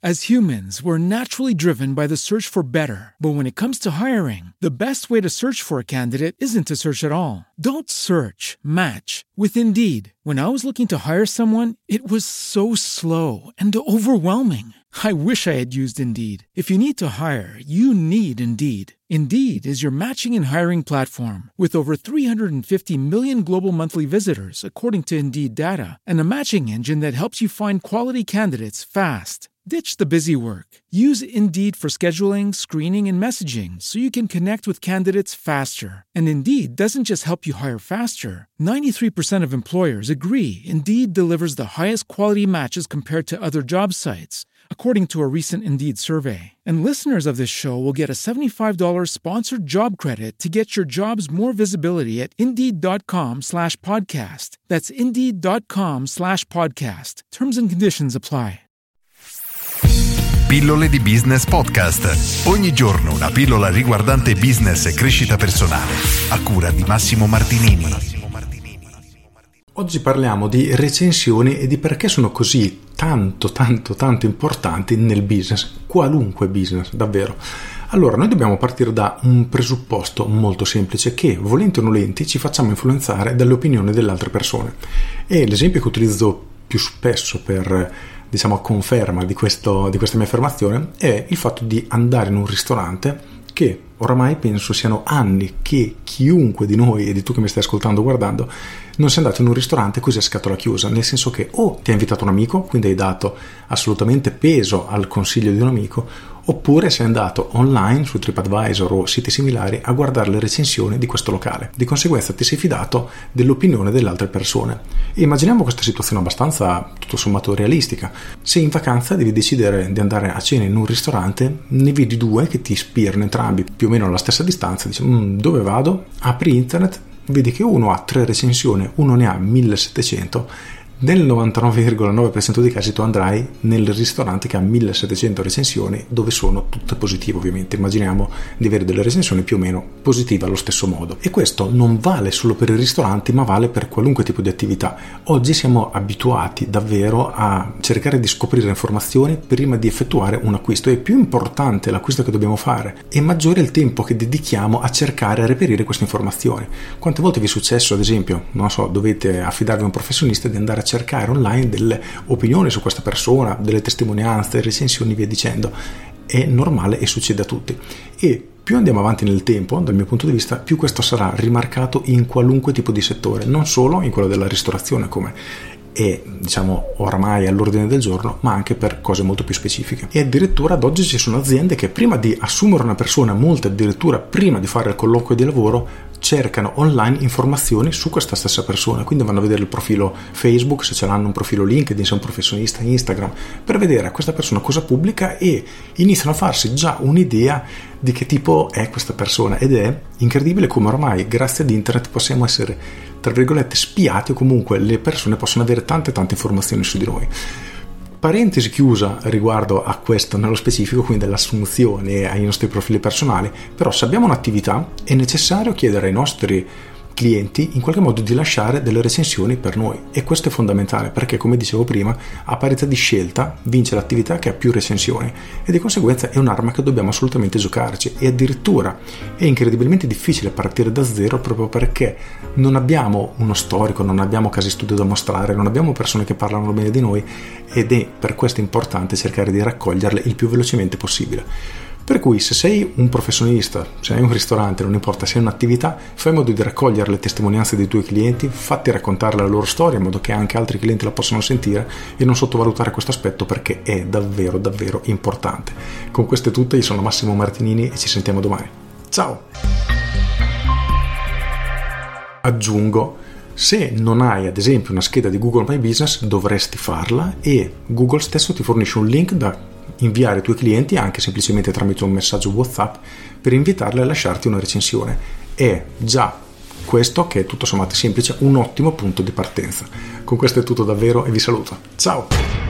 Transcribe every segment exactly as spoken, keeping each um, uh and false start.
As humans, we're naturally driven by the search for better. But when it comes to hiring, the best way to search for a candidate isn't to search at all. Don't search, match with Indeed. When I was looking to hire someone, it was so slow and overwhelming. I wish I had used Indeed. If you need to hire, you need Indeed. Indeed is your matching and hiring platform with over three hundred fifty million global monthly visitors, according to Indeed data, and a matching engine that helps you find quality candidates fast. Ditch the busy work. Use Indeed for scheduling, screening, and messaging so you can connect with candidates faster. And Indeed doesn't just help you hire faster. ninety-three percent of employers agree Indeed delivers the highest quality matches compared to other job sites, according to a recent Indeed survey. And listeners of this show will get a seventy-five dollars sponsored job credit to get your jobs more visibility at Indeed.com slash podcast. That's Indeed.com slash podcast. Terms and conditions apply. Pillole di Business Podcast. Ogni giorno una pillola riguardante business e crescita personale. A cura di Massimo Martinini. Oggi parliamo di recensioni e di perché sono così tanto, tanto, tanto importanti nel business, qualunque business, davvero. Allora, noi dobbiamo partire da un presupposto molto semplice, che volenti o nolenti ci facciamo influenzare dalle opinioni delle altre persone. E l'esempio che utilizzo più spesso per, diciamo, a conferma di, questo, di questa mia affermazione è il fatto di andare in un ristorante che oramai penso siano anni che chiunque di noi, e di tu che mi stai ascoltando o guardando, non sei andato in un ristorante così a scatola chiusa, nel senso che o ti ha invitato un amico, quindi hai dato assolutamente peso al consiglio di un amico, oppure sei andato online su TripAdvisor o siti similari a guardare le recensioni di questo locale. Di conseguenza ti sei fidato dell'opinione delle altre persone. E immaginiamo questa situazione abbastanza, tutto sommato, realistica. Se in vacanza devi decidere di andare a cena in un ristorante, ne vedi due che ti ispirano entrambi più o meno alla stessa distanza, dici mm, dove vado? Apri internet, vedi che uno ha tre recensioni, uno ne ha millesettecento. Nel novantanove virgola nove per cento dei casi tu andrai nel ristorante che ha millesettecento recensioni, dove sono tutte positive ovviamente. Immaginiamo di avere delle recensioni più o meno positive allo stesso modo. E questo non vale solo per i ristoranti, ma vale per qualunque tipo di attività. Oggi siamo abituati davvero a cercare di scoprire informazioni prima di effettuare un acquisto. E più importante è l'acquisto che dobbiamo fare, e maggiore è il tempo che dedichiamo a cercare e a reperire queste informazioni. Quante volte vi è successo, ad esempio, non so, dovete affidarvi a un professionista, di andare a cercare online delle opinioni su questa persona, delle testimonianze, recensioni, via dicendo. È normale e succede a tutti. E più andiamo avanti nel tempo, dal mio punto di vista, più questo sarà rimarcato in qualunque tipo di settore, non solo in quello della ristorazione, come è, diciamo, oramai all'ordine del giorno, ma anche per cose molto più specifiche. E addirittura ad oggi ci sono aziende che prima di assumere una persona, molte addirittura prima di fare il colloquio di lavoro, cercano online informazioni su questa stessa persona, quindi vanno a vedere il profilo Facebook, se ce l'hanno, un profilo LinkedIn, se è un professionista, Instagram, per vedere a questa persona cosa pubblica, e iniziano a farsi già un'idea di che tipo è questa persona. Ed è incredibile come ormai grazie ad internet possiamo essere, tra virgolette, spiati, o comunque le persone possono avere tante tante informazioni su di noi. Parentesi chiusa riguardo a questo nello specifico, quindi dell'assunzione ai nostri profili personali. Però se abbiamo un'attività è necessario chiedere ai nostri clienti in qualche modo di lasciare delle recensioni per noi, e questo è fondamentale, perché come dicevo prima, a parità di scelta vince l'attività che ha più recensioni, e di conseguenza è un'arma che dobbiamo assolutamente giocarci. E addirittura è incredibilmente difficile partire da zero, proprio perché non abbiamo uno storico, non abbiamo casi studio da mostrare, non abbiamo persone che parlano bene di noi, ed è per questo importante cercare di raccoglierle il più velocemente possibile. Per cui se sei un professionista, se hai un ristorante, non importa, se hai un'attività, fai in modo di raccogliere le testimonianze dei tuoi clienti, fatti raccontare la loro storia in modo che anche altri clienti la possano sentire, e non sottovalutare questo aspetto, perché è davvero davvero importante. Con questo è tutto, io sono Massimo Martinini e ci sentiamo domani. Ciao! Aggiungo, se non hai ad esempio una scheda di Google My Business, dovresti farla, e Google stesso ti fornisce un link da inviare ai tuoi clienti, anche semplicemente tramite un messaggio WhatsApp, per invitarli a lasciarti una recensione. È già questo, che è tutto sommato semplice, un ottimo punto di partenza. Con questo è tutto davvero, e vi saluto. Ciao!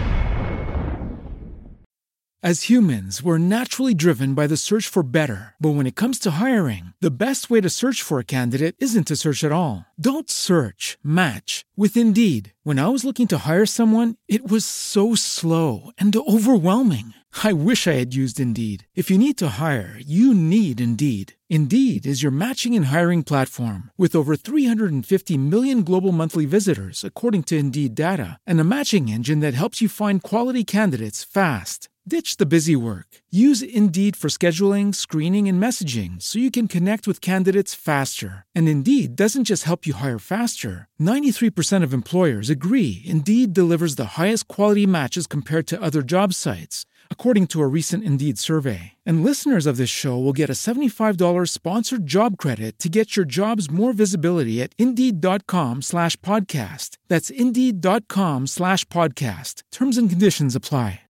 As humans, we're naturally driven by the search for better. But when it comes to hiring, the best way to search for a candidate isn't to search at all. Don't search, match with Indeed. When I was looking to hire someone, it was so slow and overwhelming. I wish I had used Indeed. If you need to hire, you need Indeed. Indeed is your matching and hiring platform with over three hundred fifty million global monthly visitors, according to Indeed data, and a matching engine that helps you find quality candidates fast. Ditch the busy work. Use Indeed for scheduling, screening, and messaging so you can connect with candidates faster. And Indeed doesn't just help you hire faster. ninety-three percent of employers agree Indeed delivers the highest quality matches compared to other job sites, according to a recent Indeed survey. And listeners of this show will get a seventy-five dollars sponsored job credit to get your jobs more visibility at Indeed.com slash podcast. That's Indeed.com slash podcast. Terms and conditions apply.